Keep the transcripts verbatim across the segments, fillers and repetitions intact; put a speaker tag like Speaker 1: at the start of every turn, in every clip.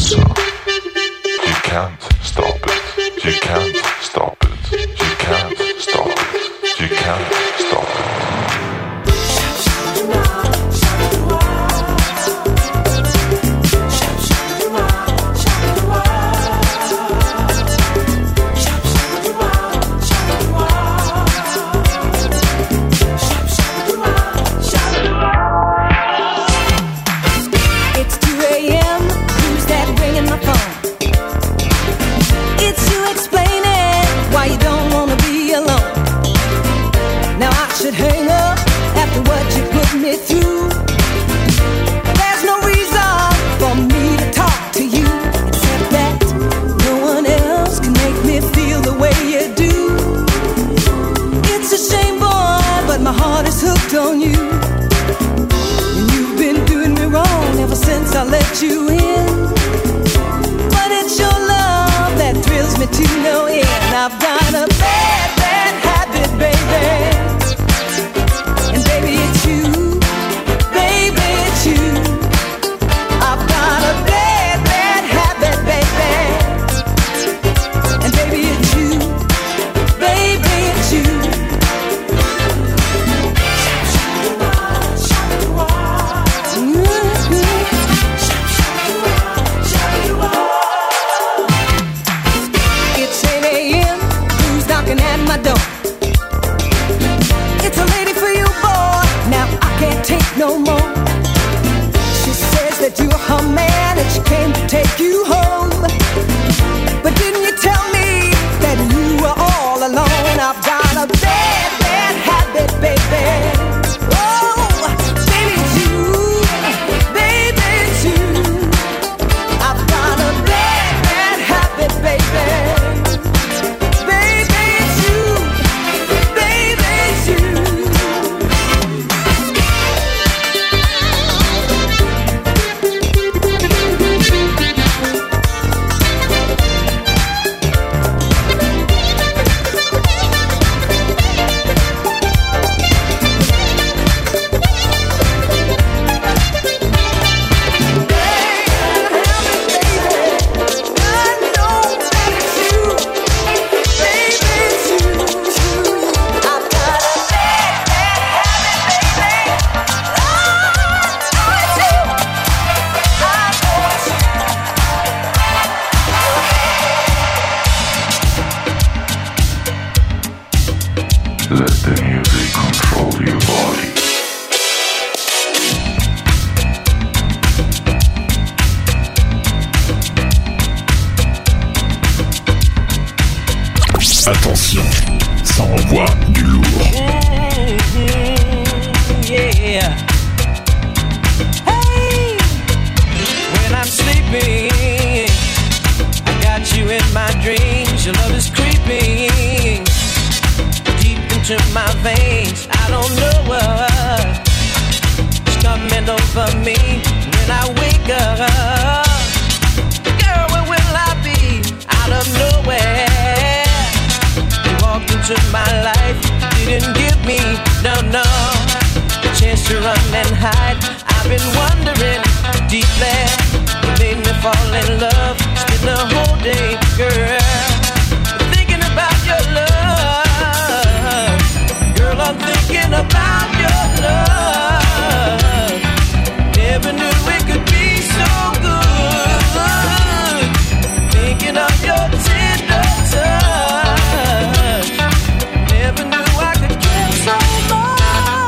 Speaker 1: answer. You can't stop it. You can't stop it. You can't stop it. You can't stop it.
Speaker 2: On you, and you've been doing me wrong ever since I let you in. But it's your love that thrills me to no end. I've got a bad, bad habit, baby, and baby it's you, baby it's you. I've got a bad, bad habit, baby, and baby it's you, baby it's you. At my door, it's a lady for you, boy. Now I can't take no more. She says that you're her man and she came to take you home. But didn't you tell me that you were all alone? I've got a bad, bad habit, baby. Oh, baby, it's you, baby, it's you. I've got a bad, bad habit, baby.
Speaker 1: Let the music control your body.
Speaker 3: Attention, ça envoie du lourd.
Speaker 4: Mm-hmm, yeah. Hey, when I'm sleeping, I got you in my dreams. Your love is creeping to my veins. I don't know what's coming over me when I wake up. Girl, where will I be? Out of nowhere, you walked into my life, didn't give me, no, no, a chance to run and hide. I've been wondering deeply, what made me fall in love. Spend the whole day, girl, thinking about your love. Girl, I'm thinking about your love. Never knew it could be so good. Thinking of your tender touch. Never knew I could care so much.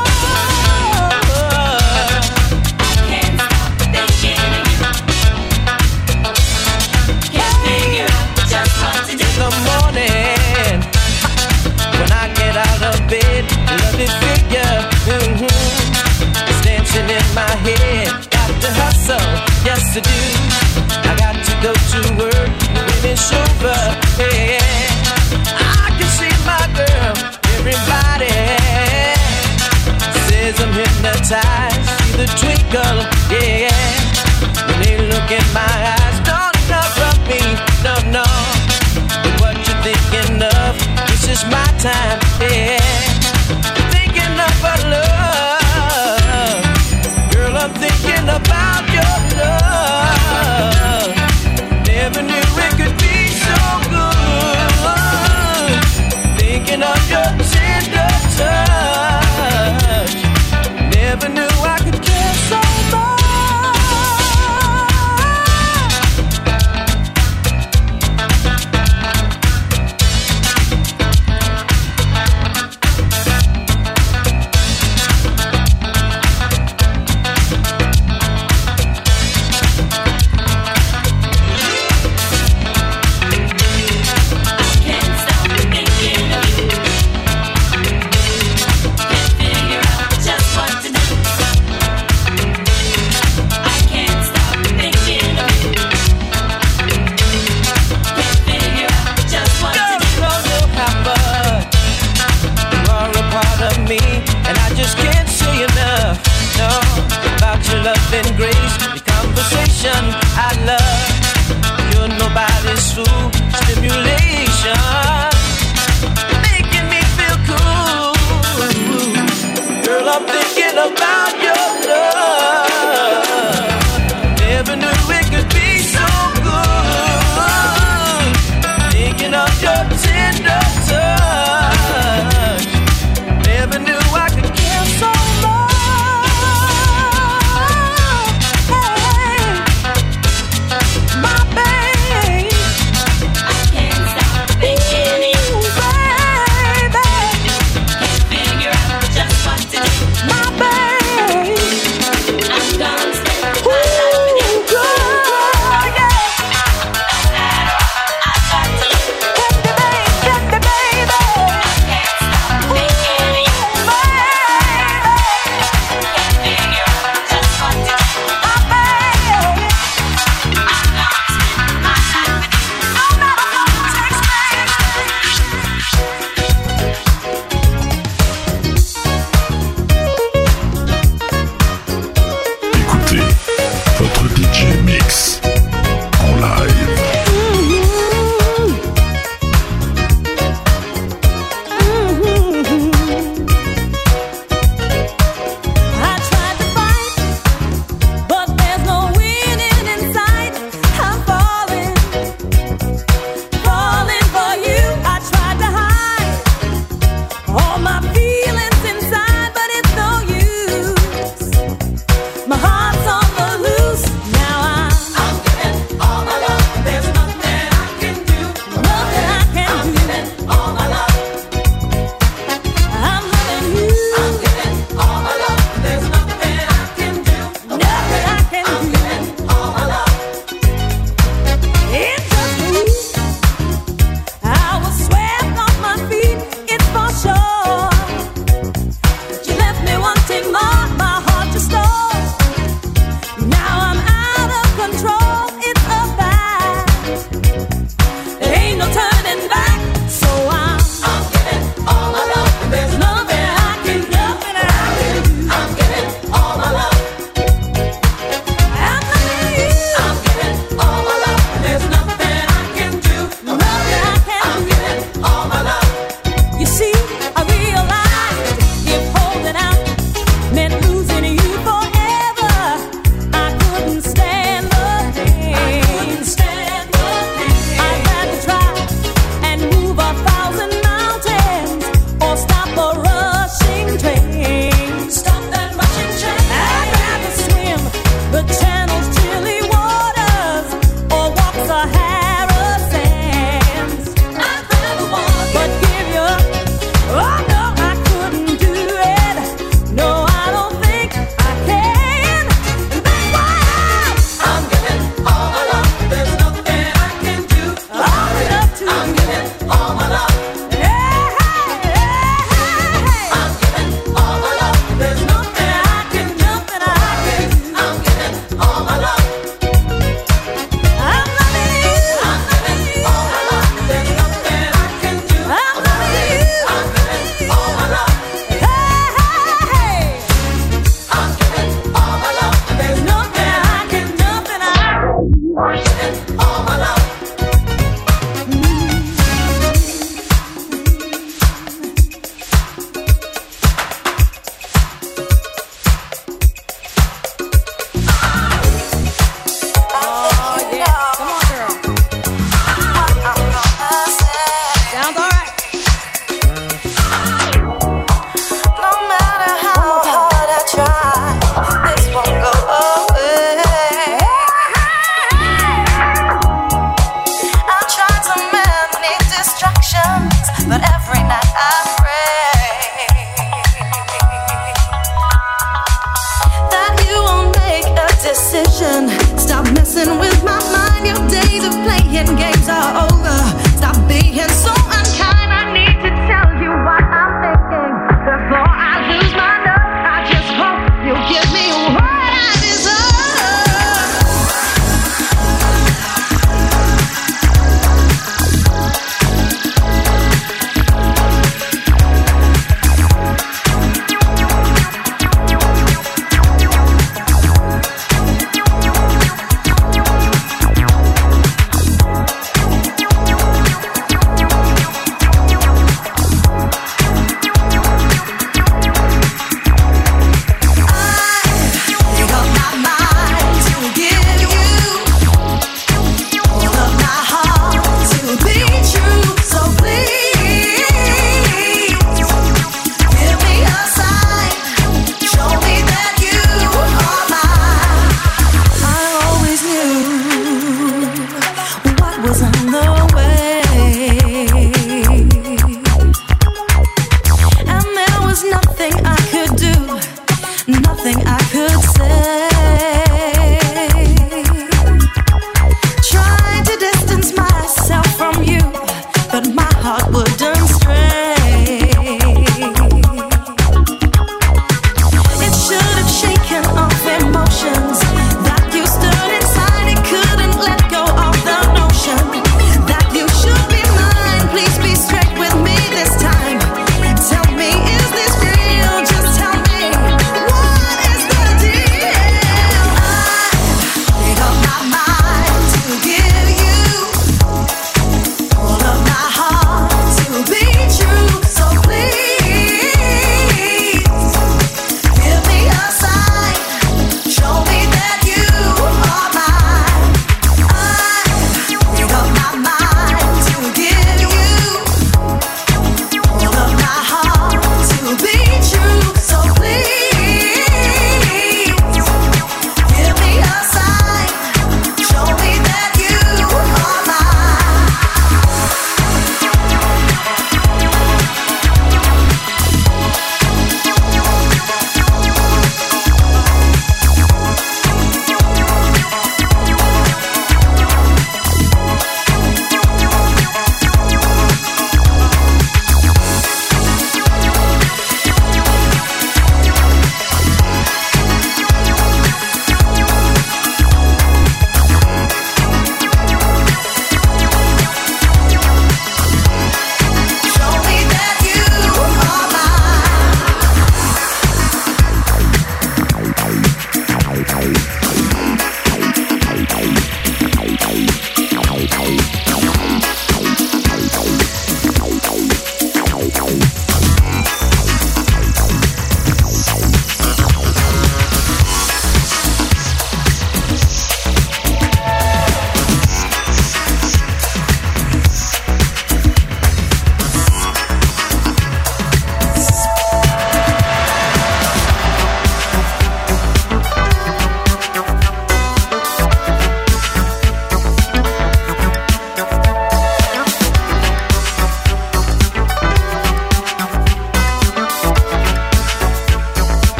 Speaker 5: I can't stop thinking of you. Can't figure out just what to do.
Speaker 4: In the morning, when I get out of bed, lovely figure, mm-hmm, it's dancing in my head. Got to hustle, yes I do. I got to go to work when it's over, yeah. I can see my girl, everybody says I'm hypnotized. See the twinkle, yeah. When they look in my eyes, don't interrupt me, no, no. But what you thinking of? This is my time, yeah. Thinking of our love. Girl, I'm thinking about your love.
Speaker 5: all my love.
Speaker 6: Try, this won't go away.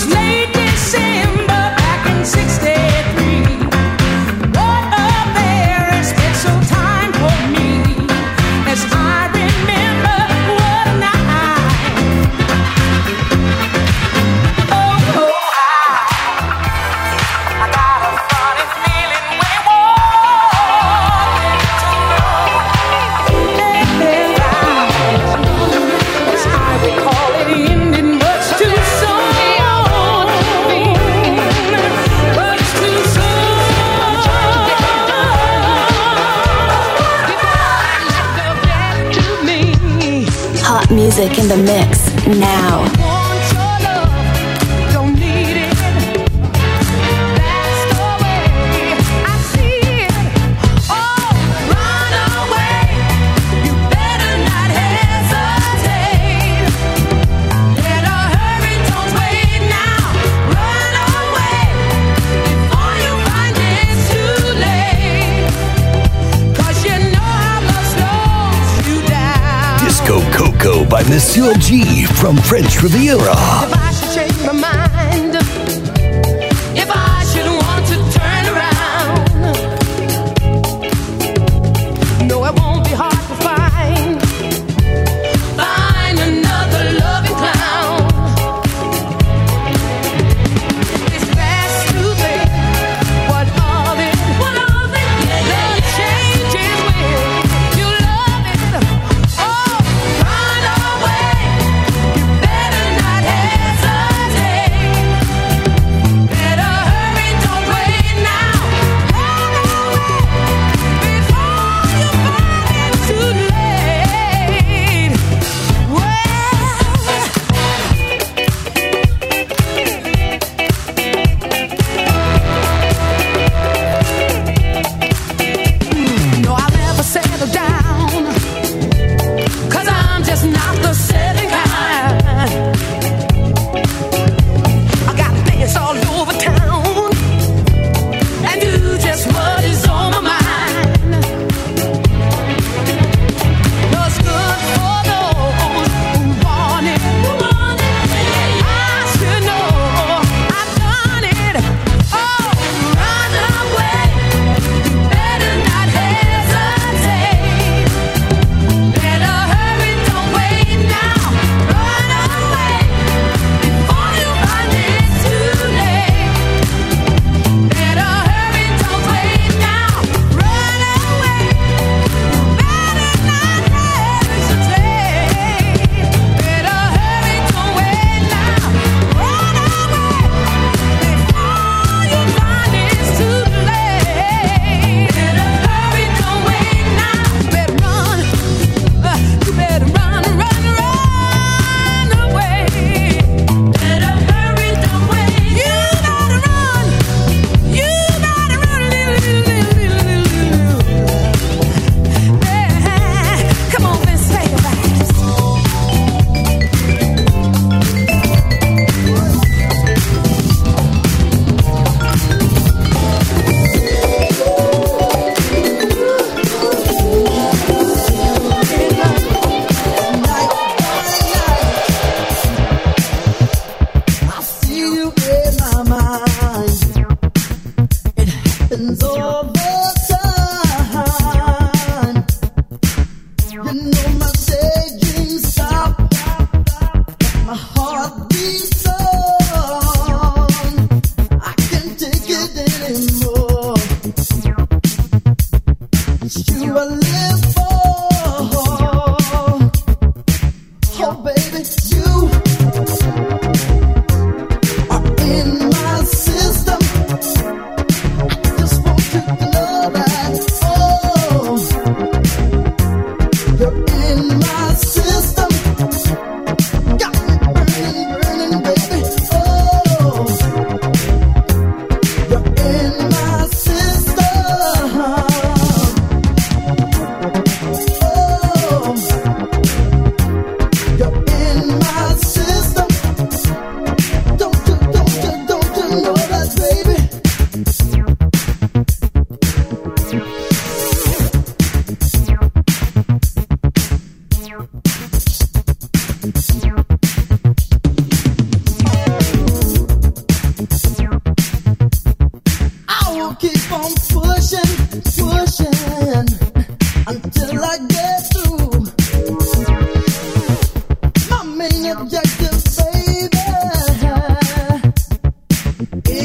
Speaker 2: late December back in sixty-three. What a very special time for me, as I remember what a night. Oh, oh, I, I got a funny feeling we walked into love. And I, as I recall it ended much too soon, much too soon.
Speaker 6: Hot music in the mix now.
Speaker 2: Want your love, don't need it. That's the way I see it. Oh, run away. You better not hesitate. Better hurry, don't wait now. Run away before you find it's too late. 'Cause you know how love slows you down.
Speaker 3: Disco Coco by Monsieur G from French Riviera.
Speaker 2: If I should change my mind, if I should want to turn around, no, it won't be hard to find, find another loving clown. It's best to think what of it, what of it, the changes with you love it. Oh, run away, you better not hesitate.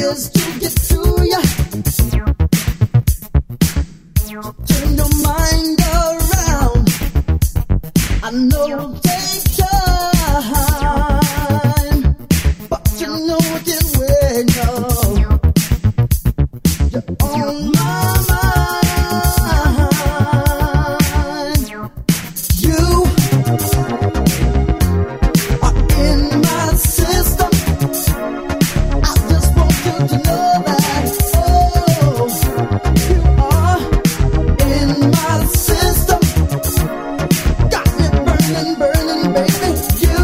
Speaker 7: is to get to you. Turn your mind around. I know it'll take time, but you know it did well. You're on my mind. You are in my system. I just want you to know that. Oh, you are in my system. Got me burning, burning, baby. You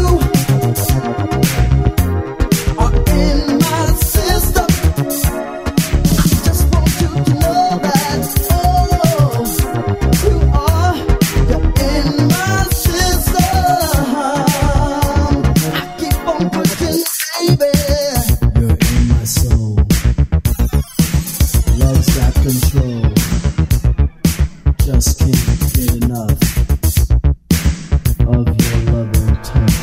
Speaker 7: are in my system. I just want you to know that. Oh, you are, you're in my system. I keep on pushing, baby.
Speaker 8: You're in my soul. Love's got control. Just can't get enough of your loving touch.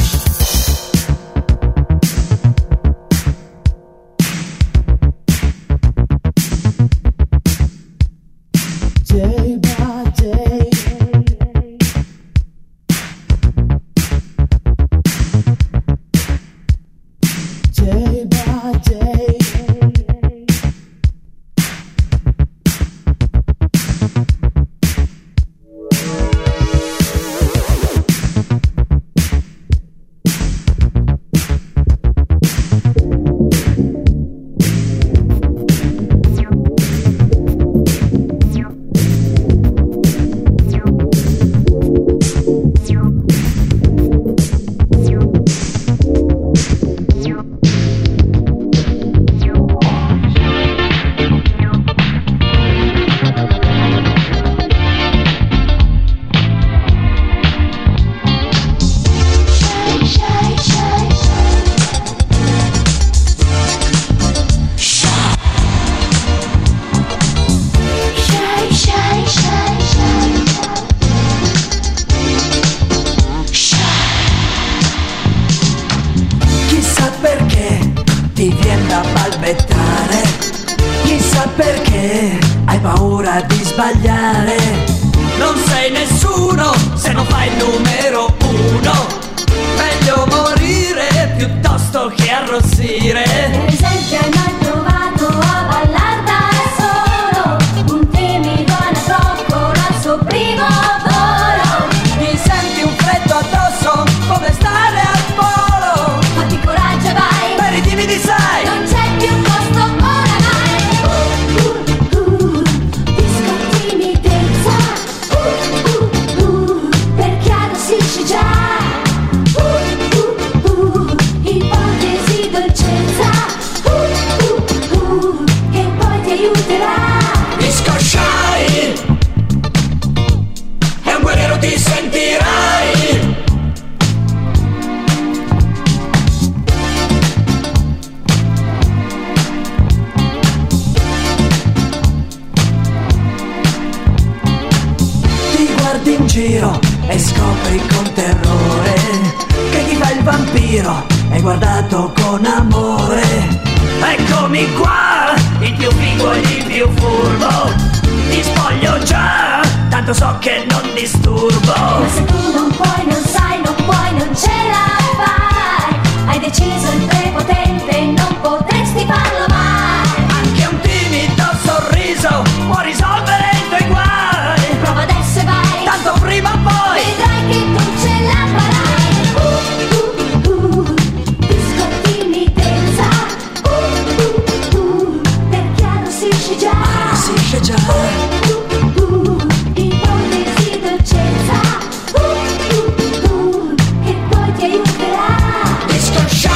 Speaker 8: Day by day, day by day.
Speaker 9: Chissà perché ti viene da balbettare, chissà perché hai paura di sbagliare. Non sei nessuno se non fai il numero uno, meglio morire piuttosto che arrossire.
Speaker 5: Per esempio hai mai provato a ballar da solo, un timido anatroccolo al suo primo volo.
Speaker 9: Ti senti un freddo addosso come stare al polo,
Speaker 5: Fatti coraggio e vai,
Speaker 9: per i timidi sai.
Speaker 5: non c'è più posto oramai. Uh, uh, uh, disco timidezza. Uh, uh, uh, perché arrossisci già. Uh, uh, uh, ipotesi dolcezza. Uh, uh, uh, che poi ti aiuterà.
Speaker 9: Disco Shy è un guerriero, ti sentirai. Ti guardi in giro e scopri con terrore che chi fa il vampiro è guardato con amore. Eccomi qua, il più figo e il più furbo. Ti spoglio già, tanto so che non disturbo.
Speaker 5: Ma se tu non puoi, non sai, non puoi, non ce la fai. Hai deciso il prepotente, non potresti farlo mai.
Speaker 9: Anche un timido sorriso può risolvere i tuoi guai.
Speaker 5: Prova adesso e vai,
Speaker 9: Tanto prima o poi
Speaker 5: vedrai che tu ce la farai. Uh, uh, uh, disco timidezza. Uh, uh, uh, perché arrossisci già.
Speaker 9: si esce già.
Speaker 5: Uh, uh, ipotesi dolcezza. Uh, uh, uh, che poi ti aiuterà.
Speaker 9: Disco Shy.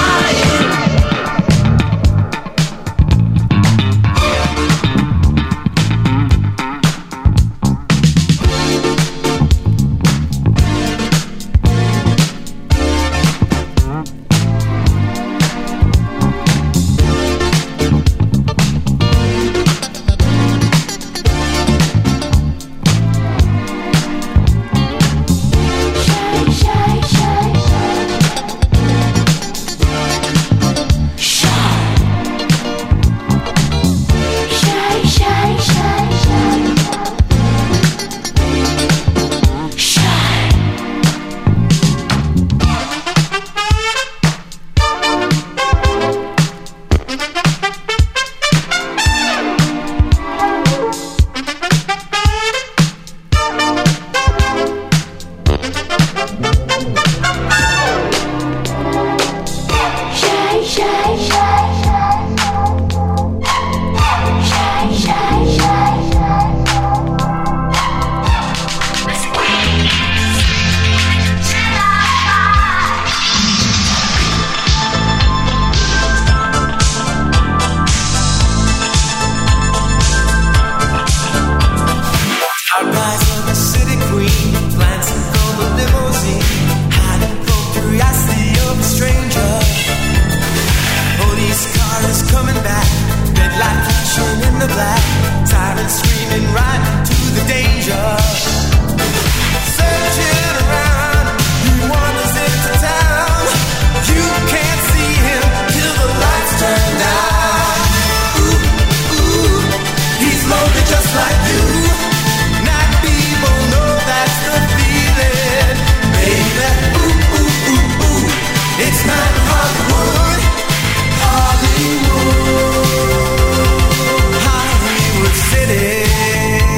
Speaker 10: been screaming right to the danger. Searching around, he wanders into town. You can't see him till the lights turn down. Ooh, ooh, he's lonely just like you. Night people know that's the feeling, baby. Ooh, ooh, ooh, ooh, it's not Hollywood, Hollywood, Hollywood City.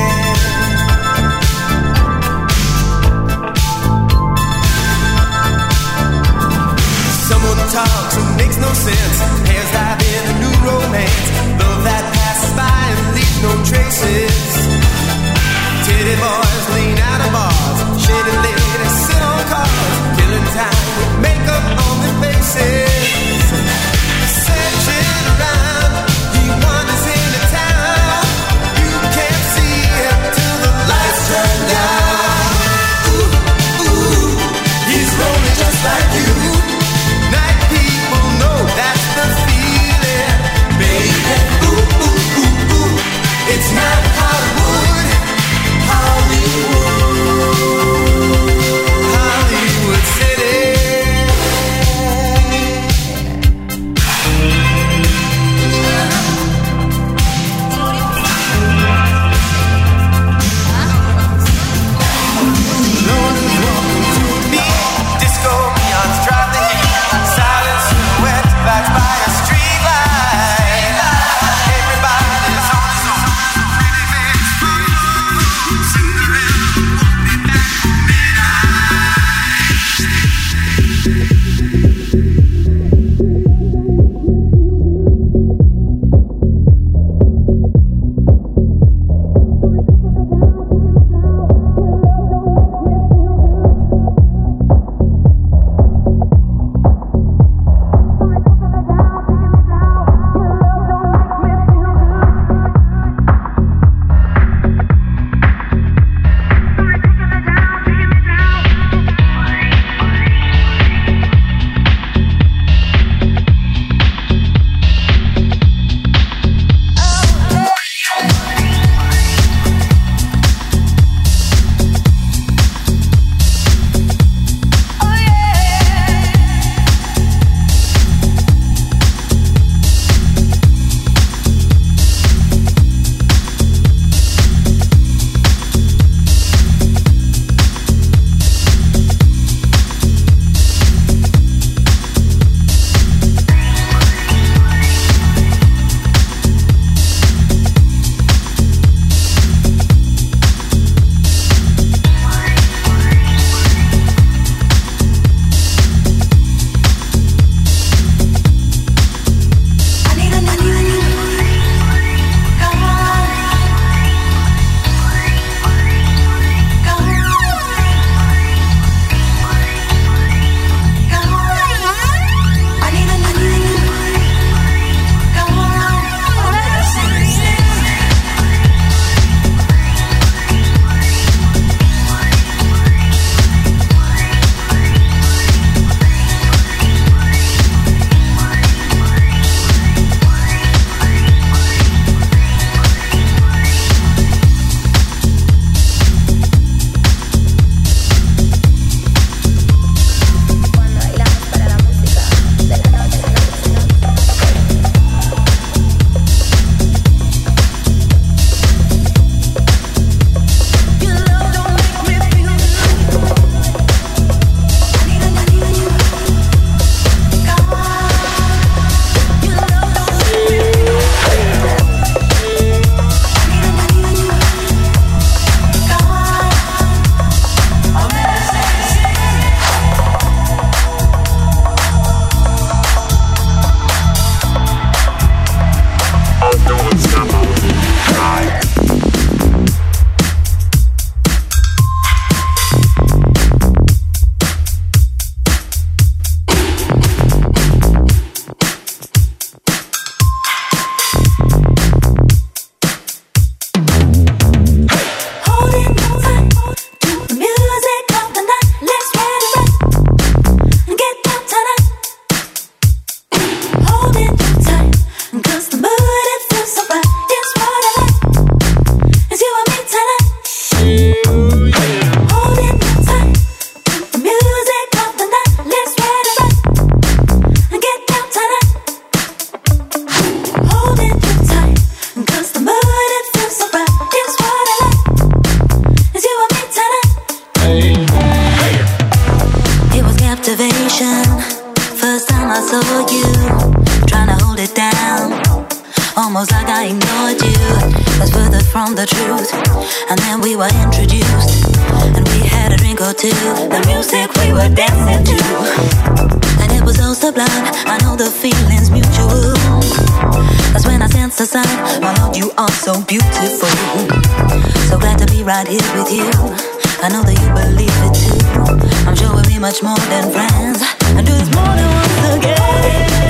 Speaker 11: So beautiful, so glad to be right here with you. I know that you believe it too. I'm sure we'll be much more than friends and do this more than once again.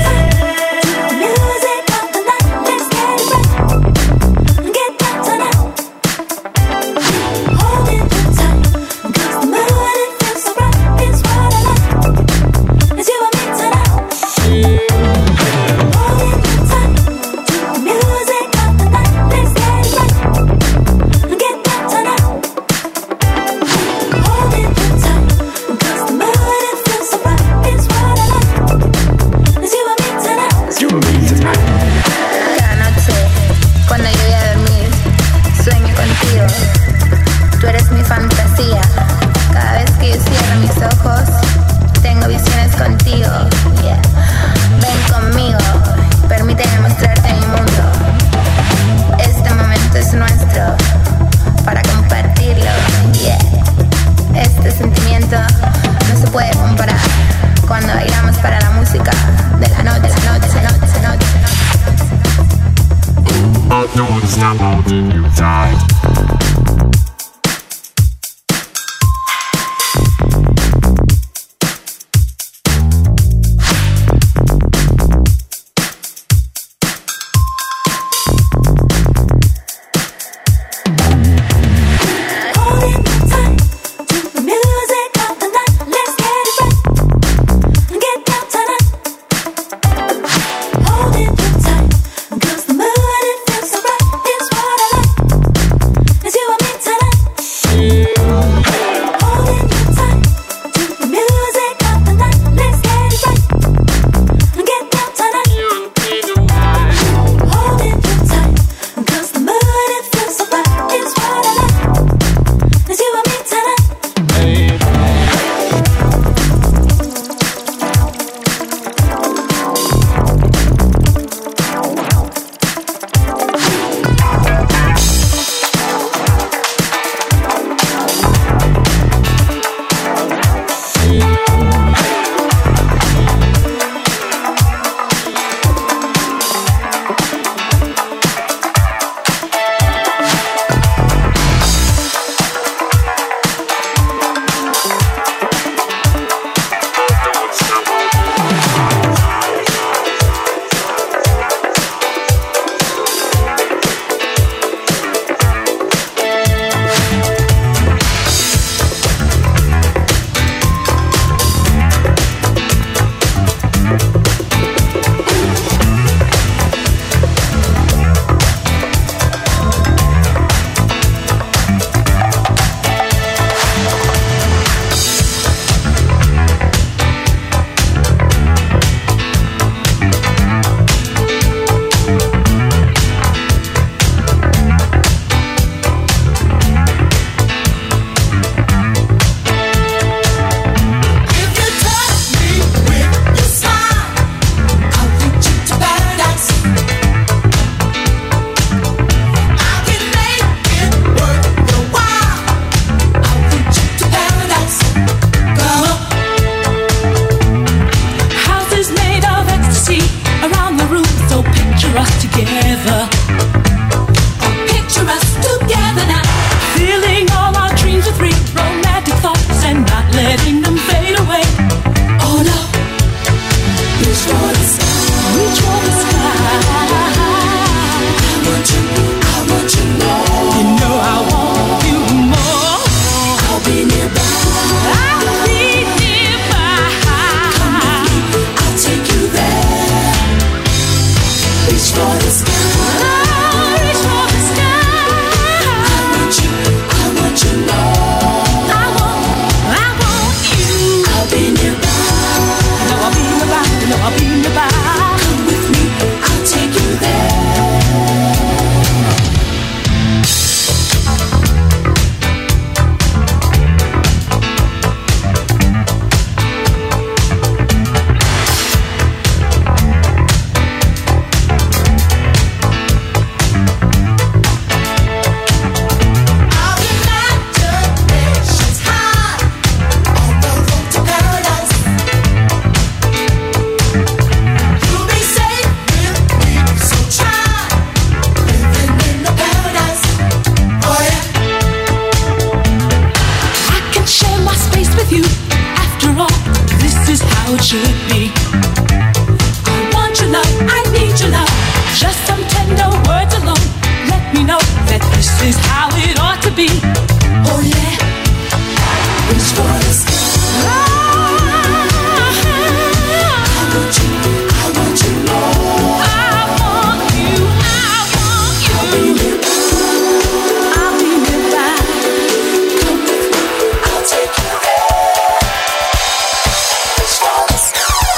Speaker 2: is how it ought to be. Oh yeah, reach for the sky. I want you, I want you more. I want you, I want you. I'll be nearby, I'll be nearby. Come with me, I'll take you there. Reach for the sky.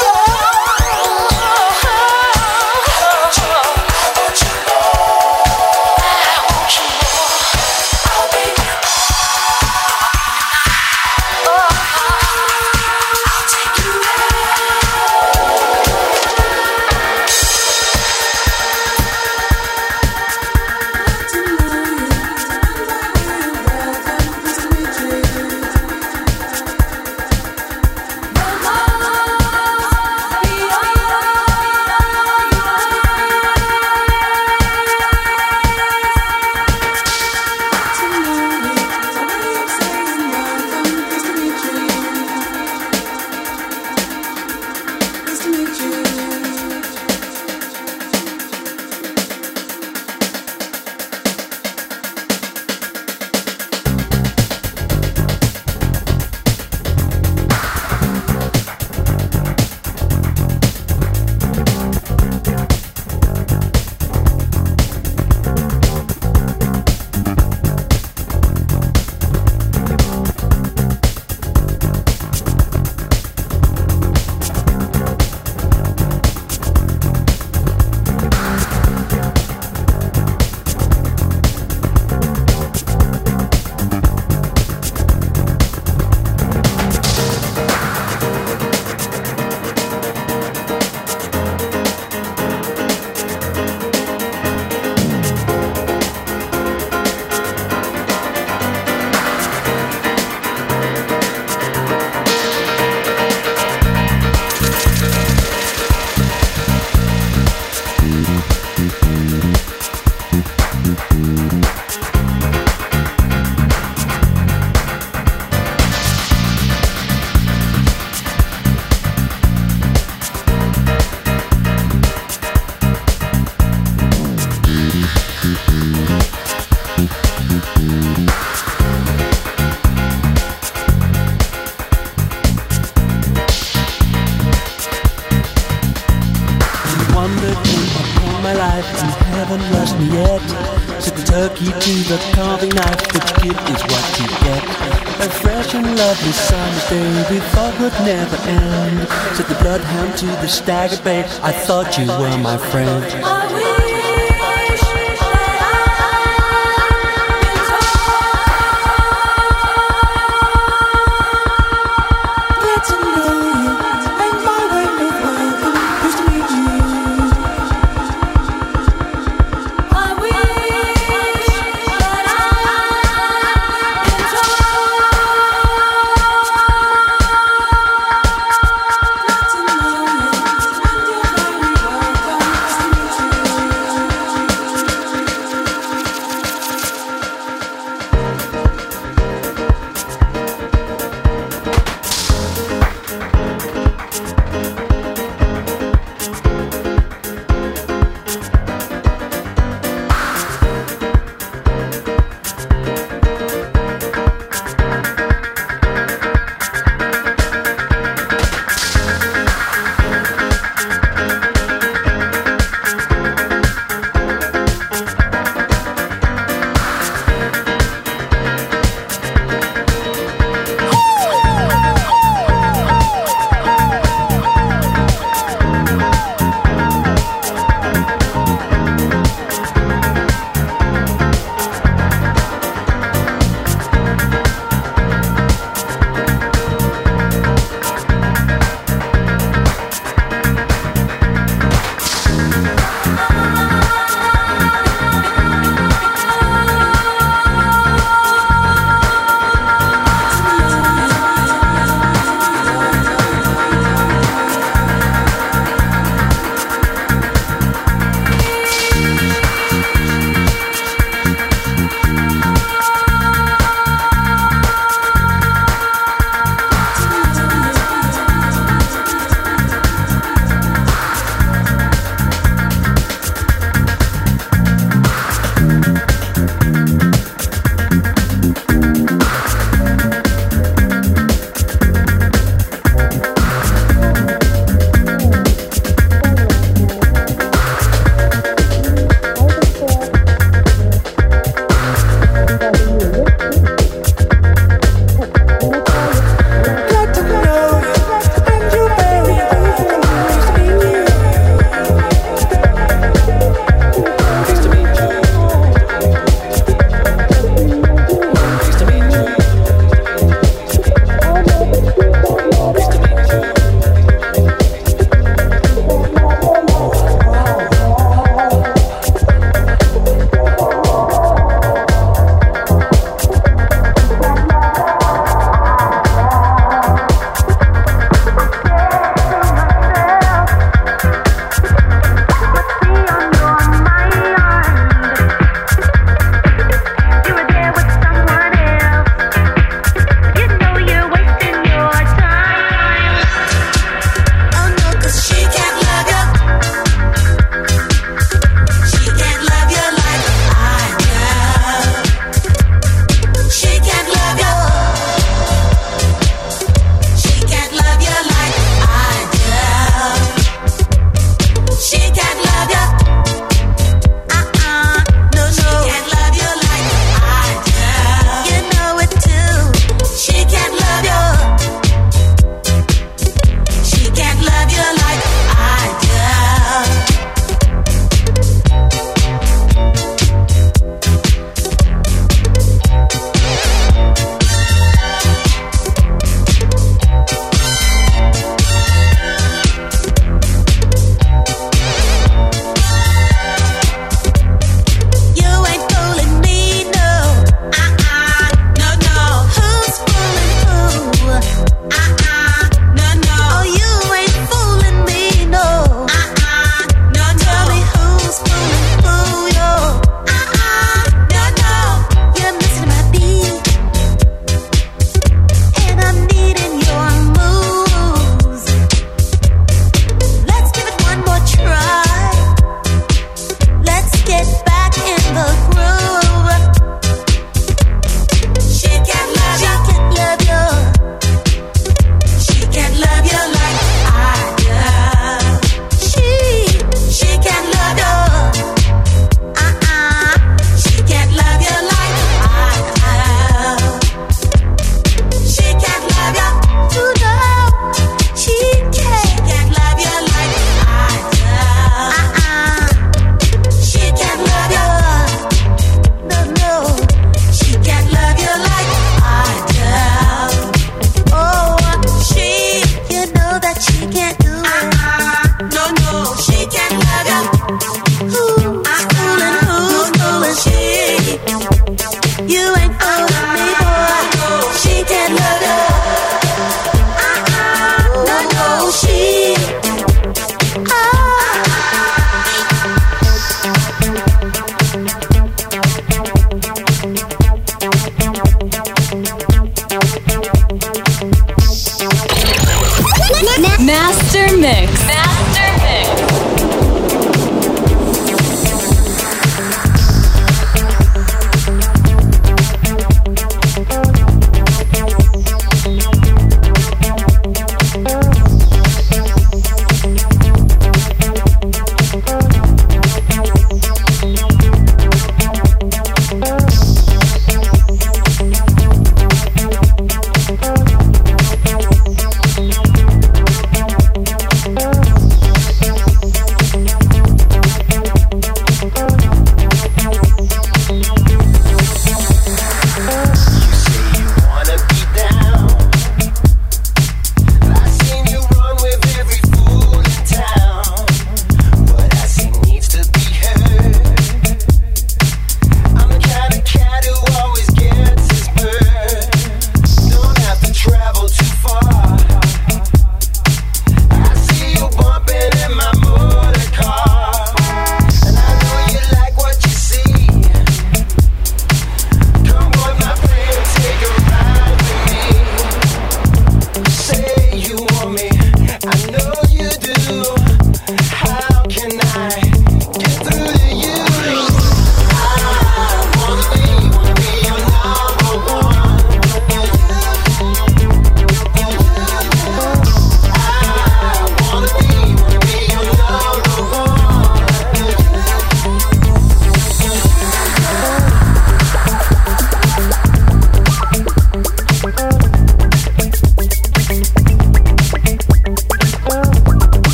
Speaker 12: Turkey to the carving knife, which gift is what you get. A fresh and lovely summer's day we thought would never end. Said the bloodhound to the staggered bay, I thought you were my friend.
Speaker 2: Thank you.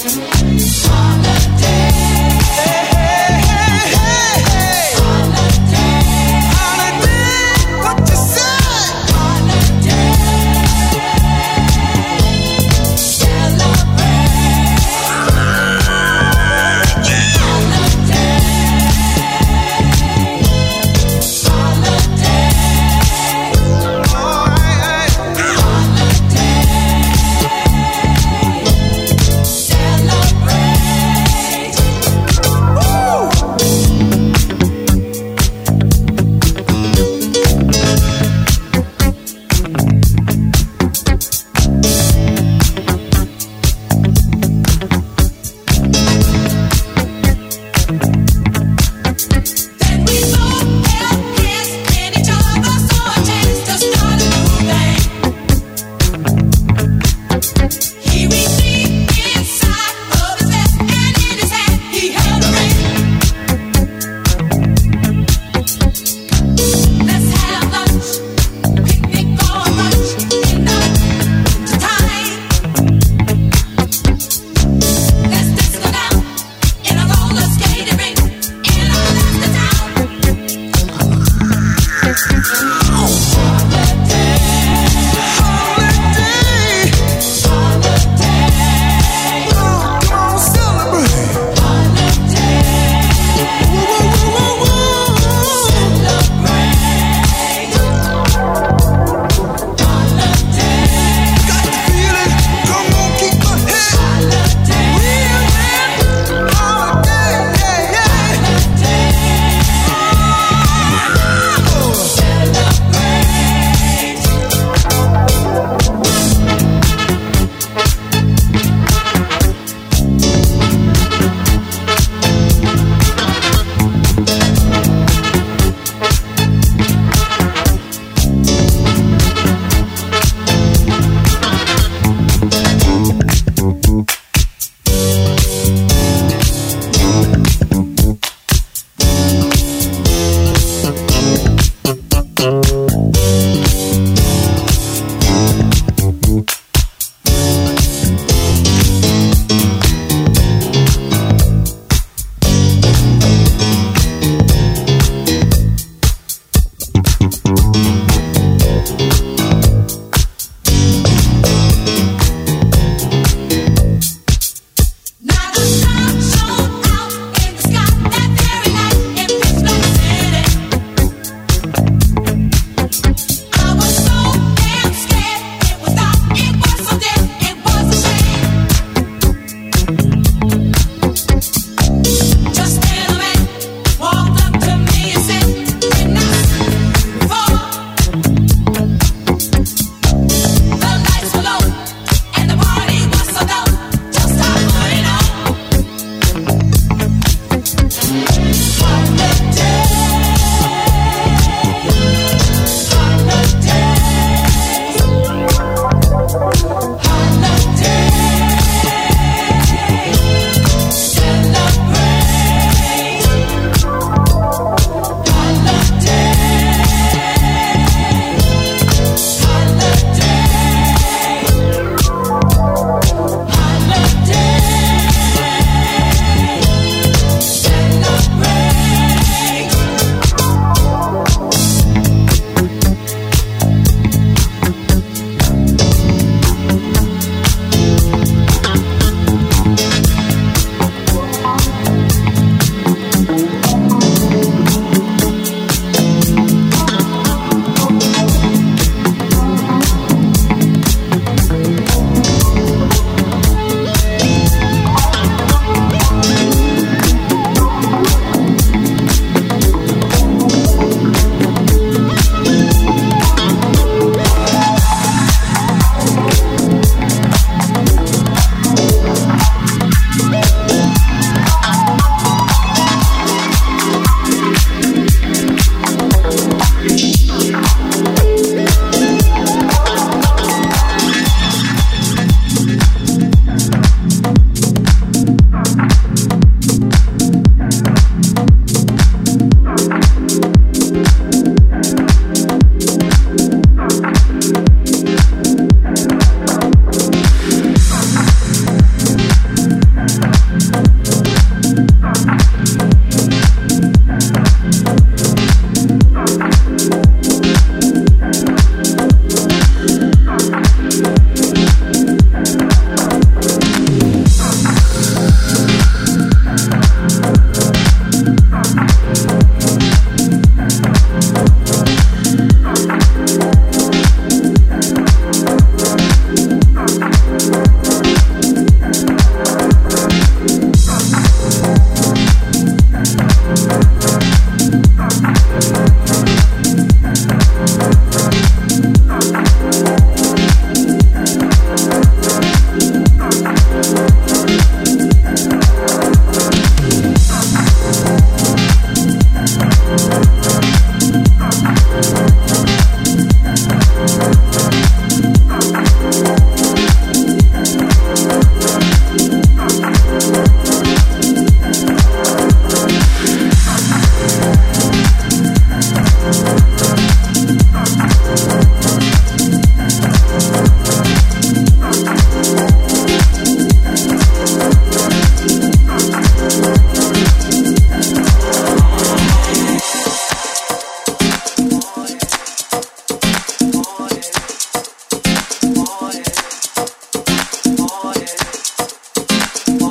Speaker 13: Celebrate.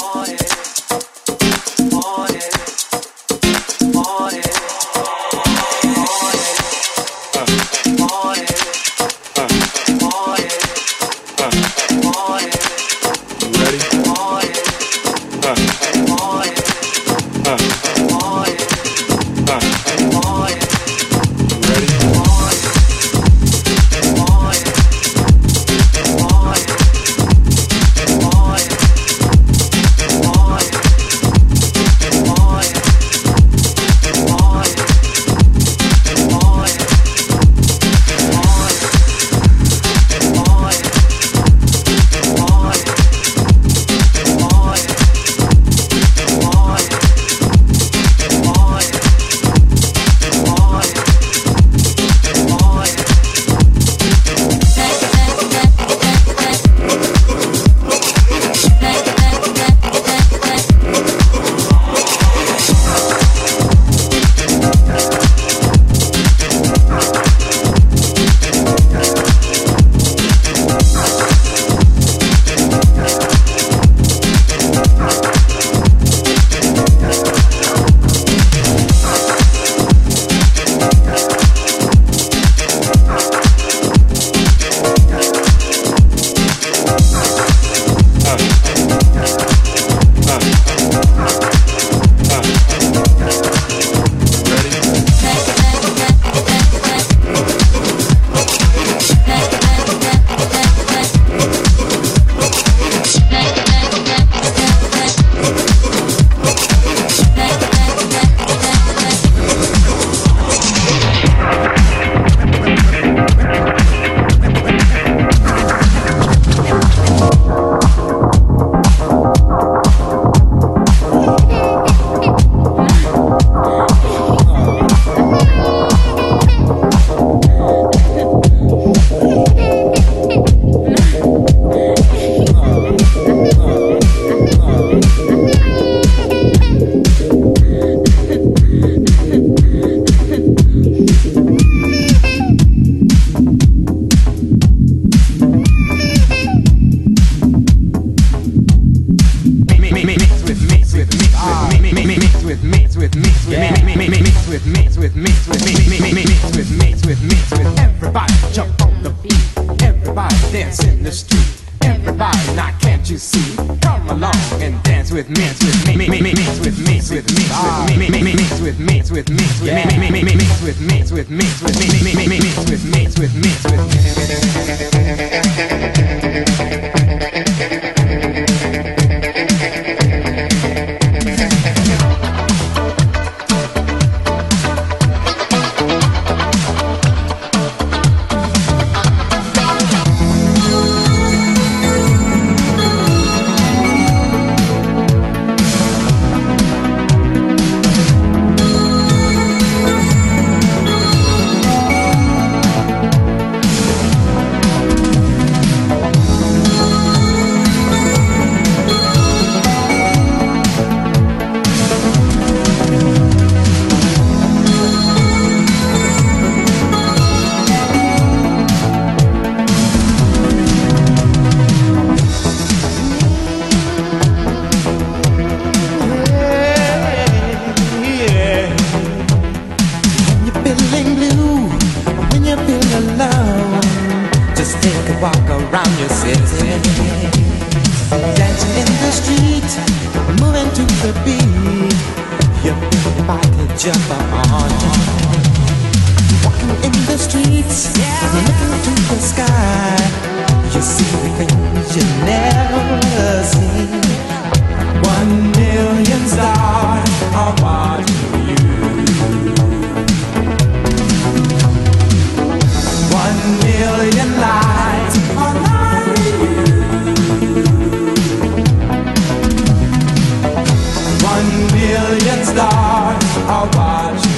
Speaker 10: One million stars are watching.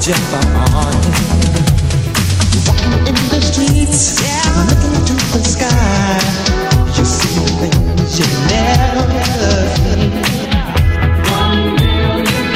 Speaker 13: just on. Walking in the streets, yeah, looking into the sky, you see the things you never seen. One million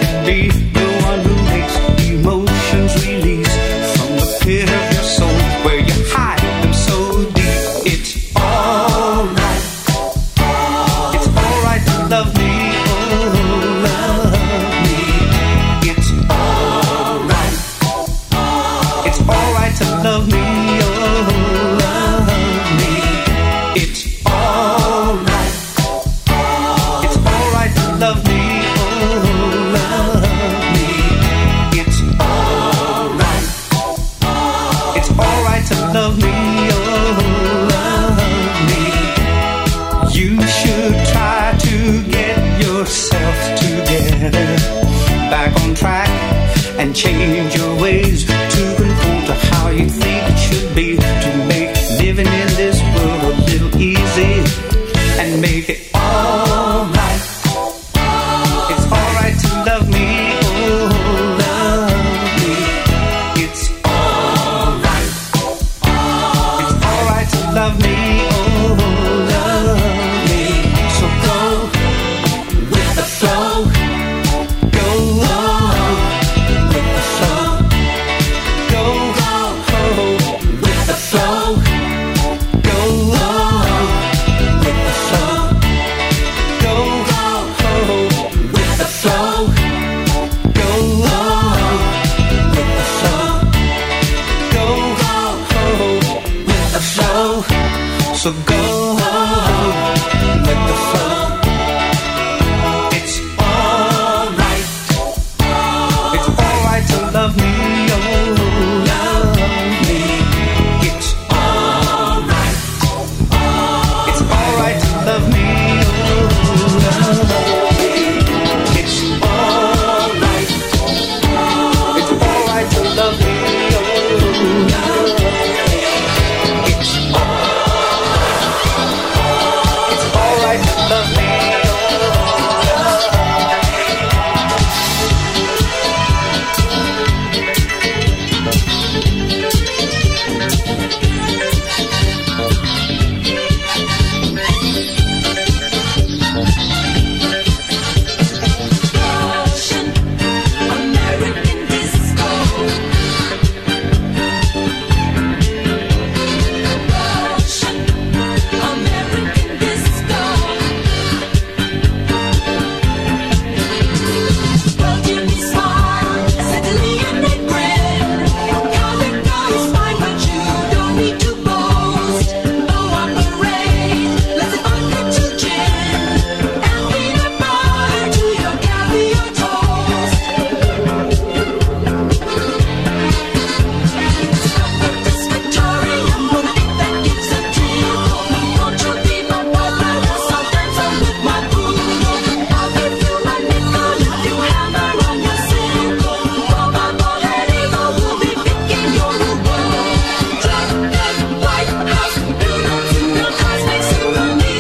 Speaker 14: be the one who makes emotions release from the pit of your soul where you hide them so deep. It's alright. It's alright to love me. Oh, love me. It's alright. It's alright to love me. Oh, love me. It's alright. It's alright to love me. Oh, love me. It's alright. It's alright to love me. Oh, love me. You should try to get yourself together, back on track, and change your ways to conform to how you think it should be, to make living in this world a little easy and make it alright. It's alright to love me. Oh, love me. It's alright. It's alright to love me. Oh, love me. So go with the flow. Go with the flow. Go with the flow. Go with the flow. Go with the flow. Go with the flow. Go with the flow. So go with the flow. It's alright. It's alright to love me. Oh, love me. It's alright. It's alright to love me. Oh, love me. It's alright. It's alright to love me. Oh, love me. It's alright. It's alright to love me.
Speaker 15: American disco. Russian American disco. Well, give me smile, Sicily and they grin. Calico is fine, but you don't need to boast. Blow up the rain, let's vodka to gin, and peanut butter to your caviar toast. This Victoria moonlight that gives a tingle. Won't you be my partner? Sometimes I'm with my poodle. I'll give you my nickel if you hammer on your single. Boba Bolerigo will be picking your ruble. Black and White House, noodles in your cars make symphony.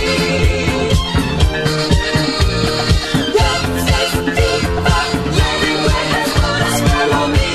Speaker 15: Love says diva, Larry Red has put a spell on me.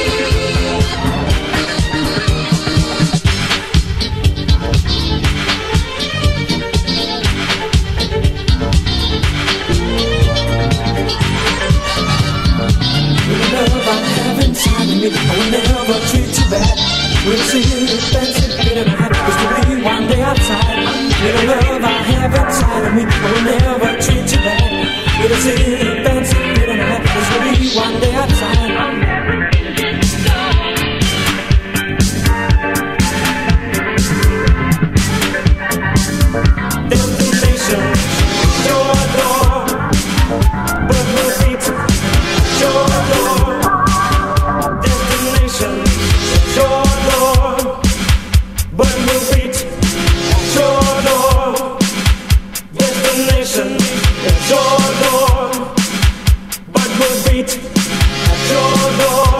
Speaker 16: Love I have inside of me, I will never treat you bad. We'll see you dancing in the night, it's to be one day outside. Little love I have inside of me, I will never treat you bad. We'll see you dancing in the night, it's to be one day outside. Destination, your door, but no feet, your door. Destination, your door, but no feet, your door. Destination, your door, but no feet, your door.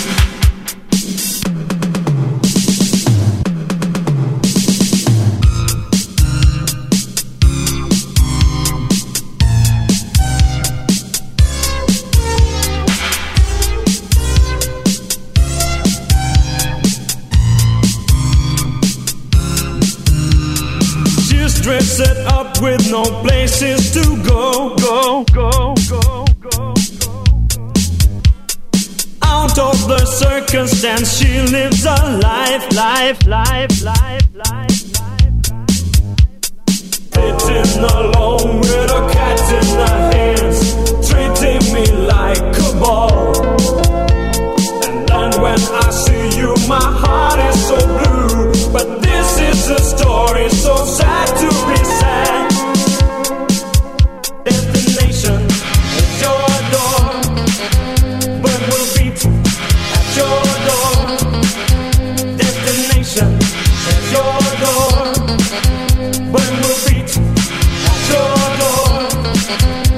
Speaker 17: Dress it up with no places to go, go, go, go, go, go.
Speaker 16: out of the circumstance, she lives a life, life, life, life, life, life. Sitting alone with a cat in her hands, treating me like a ball. And then when I see you, my heart is so blue. But this is a story so sad to be sad. Destination is your door, but we'll beat at your door. Destination is your door, but we'll beat at your door.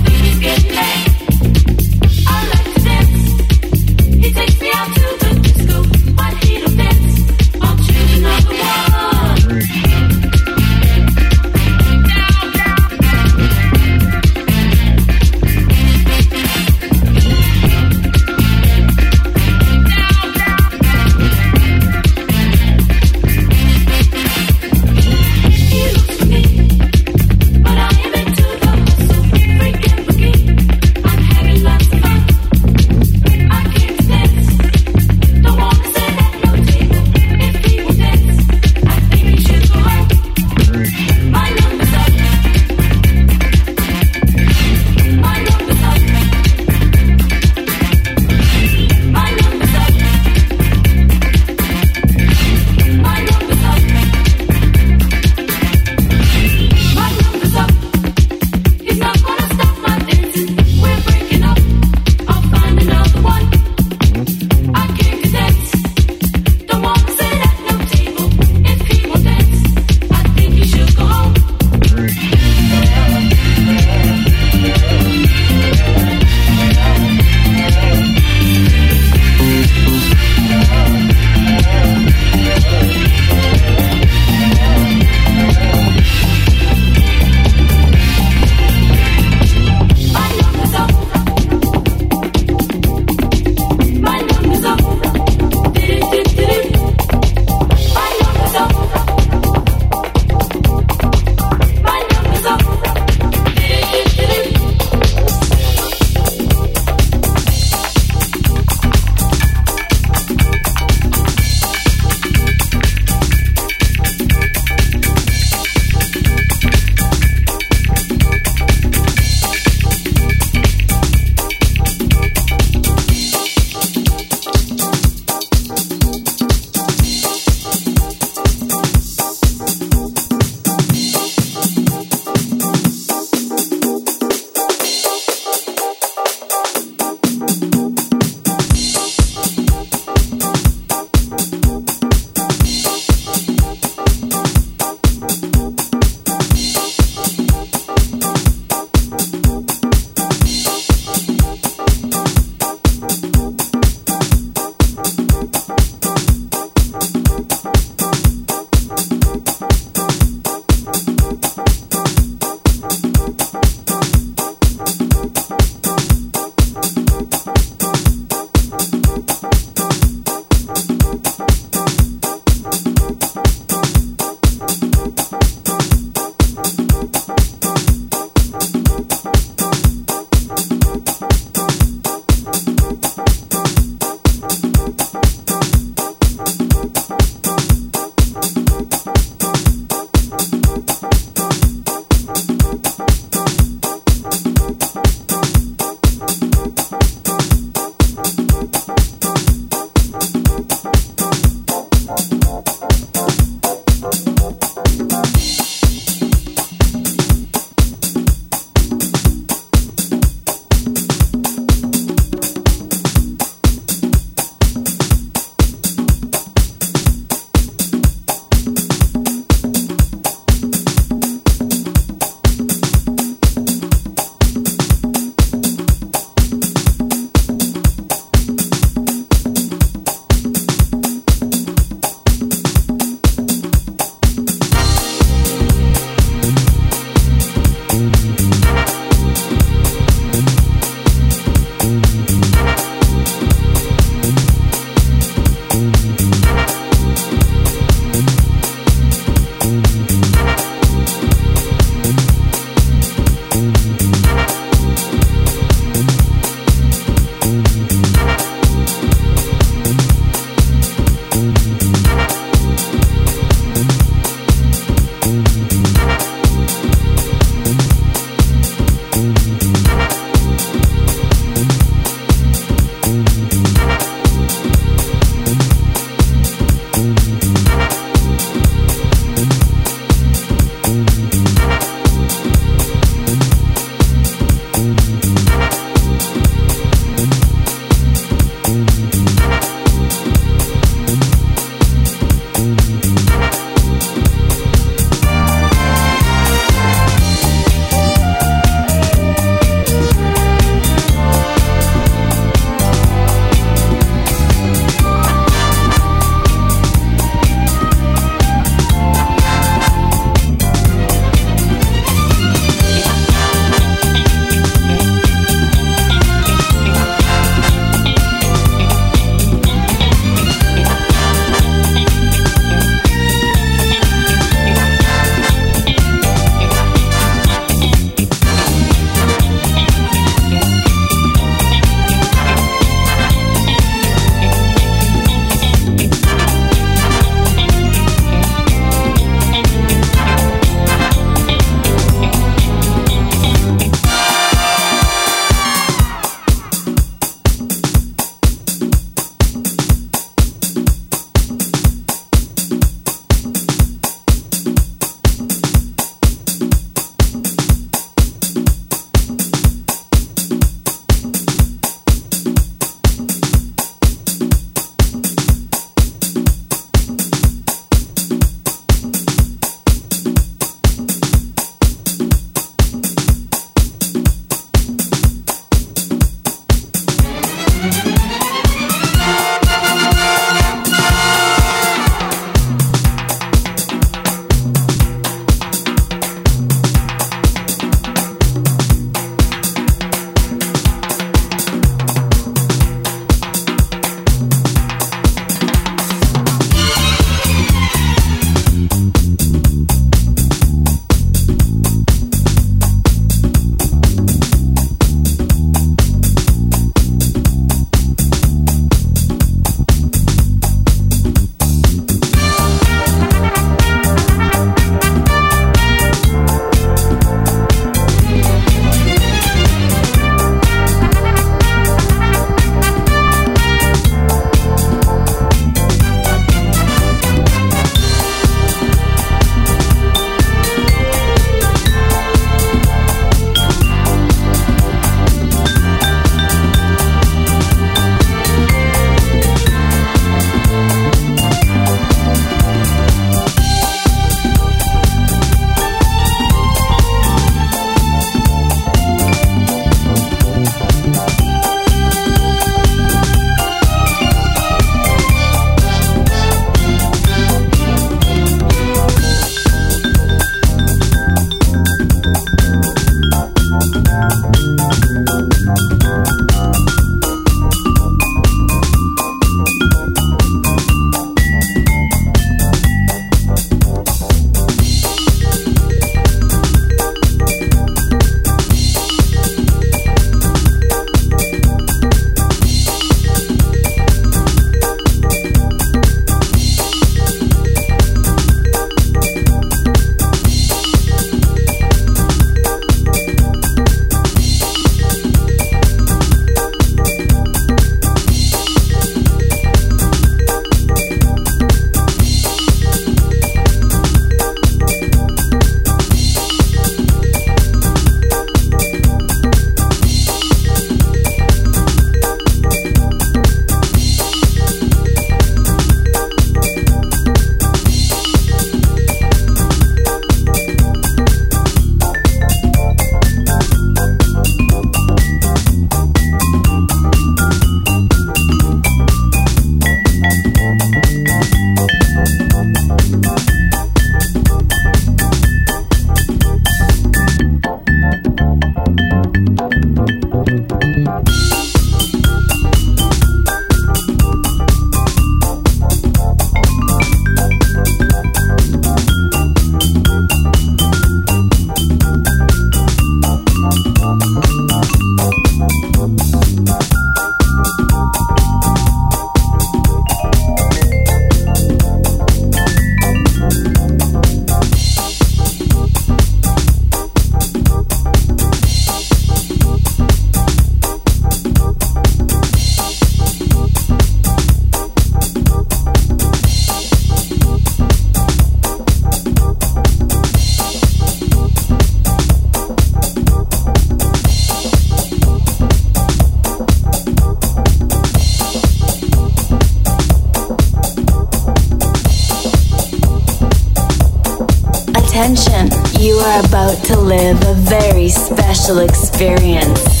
Speaker 6: attention. You are about to live a very special experience.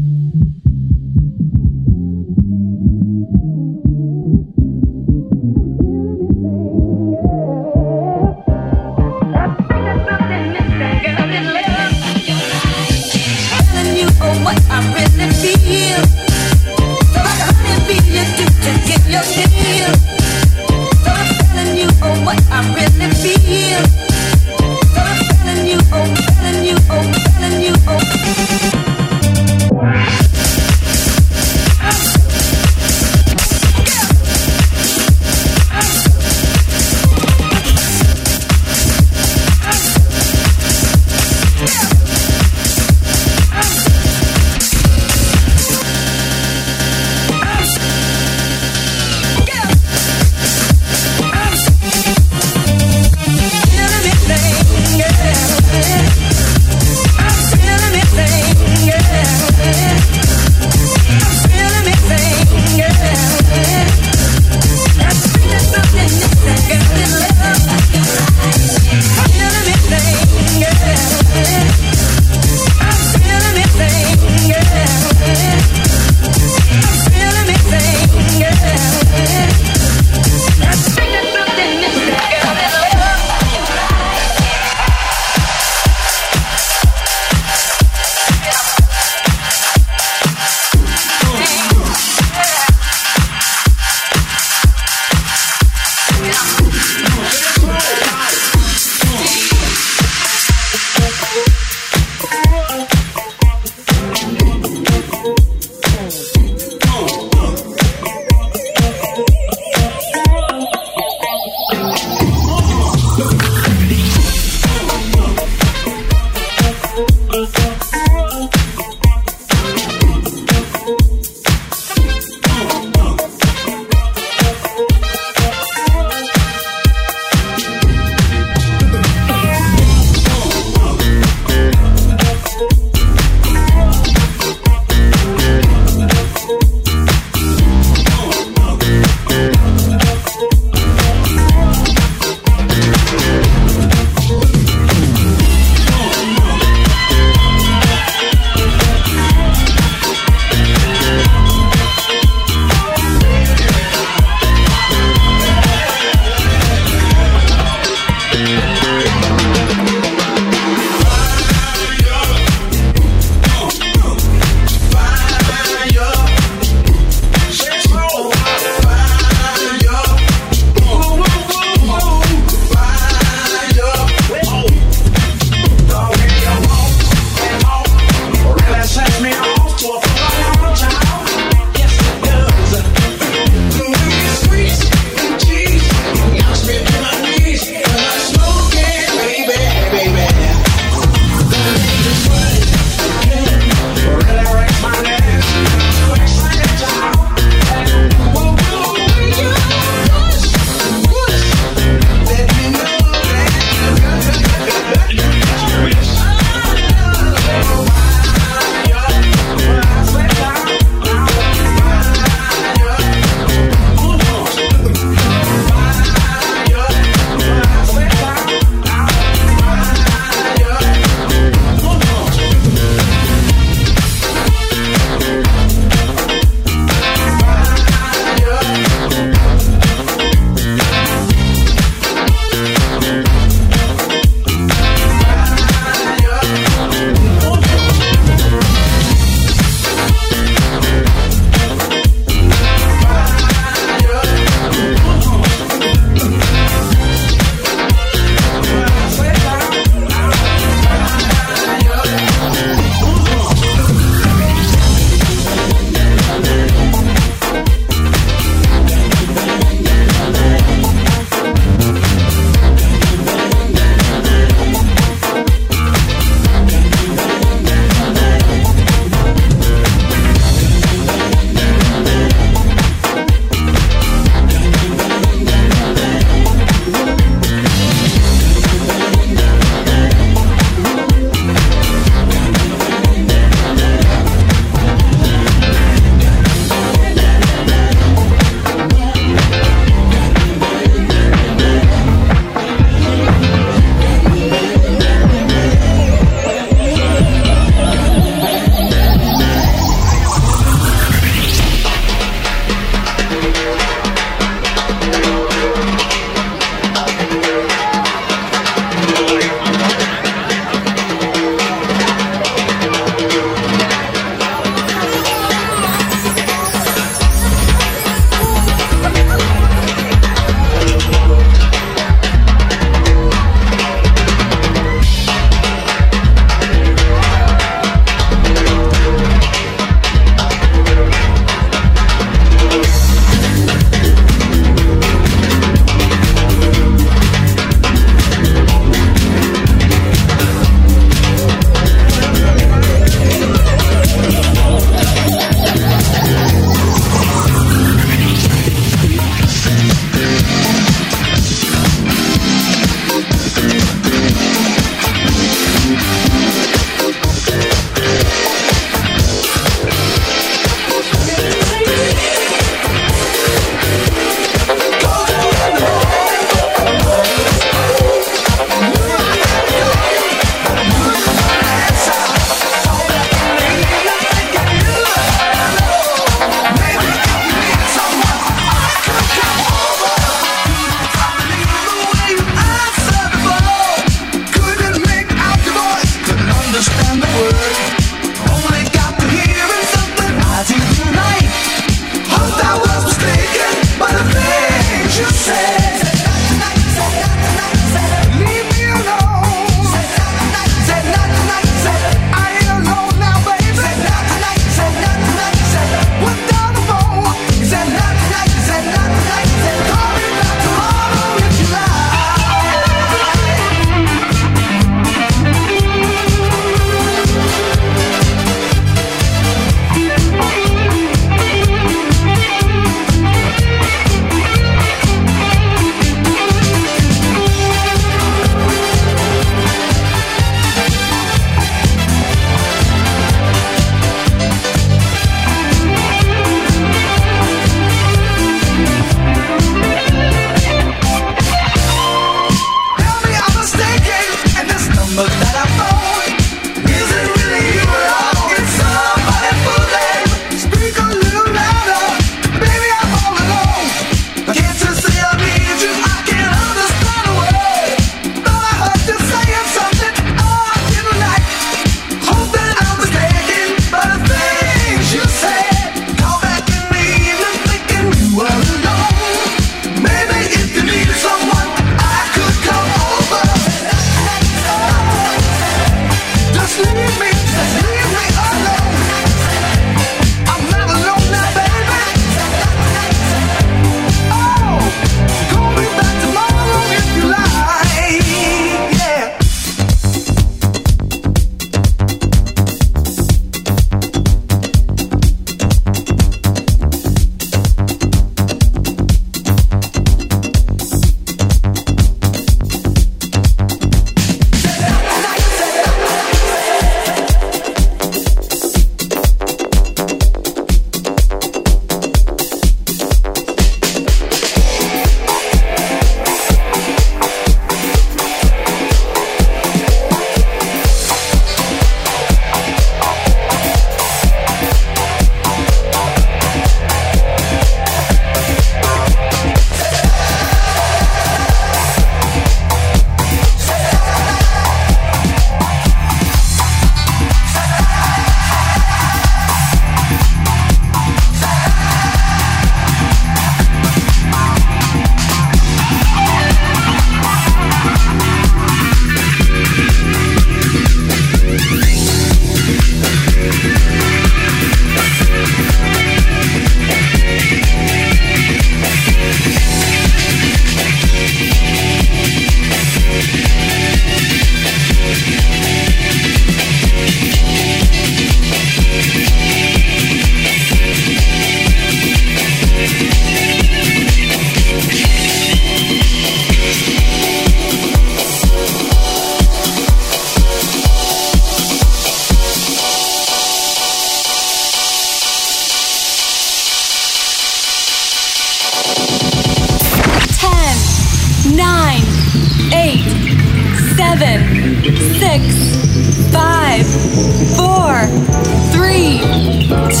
Speaker 17: seven, six, five, four, three,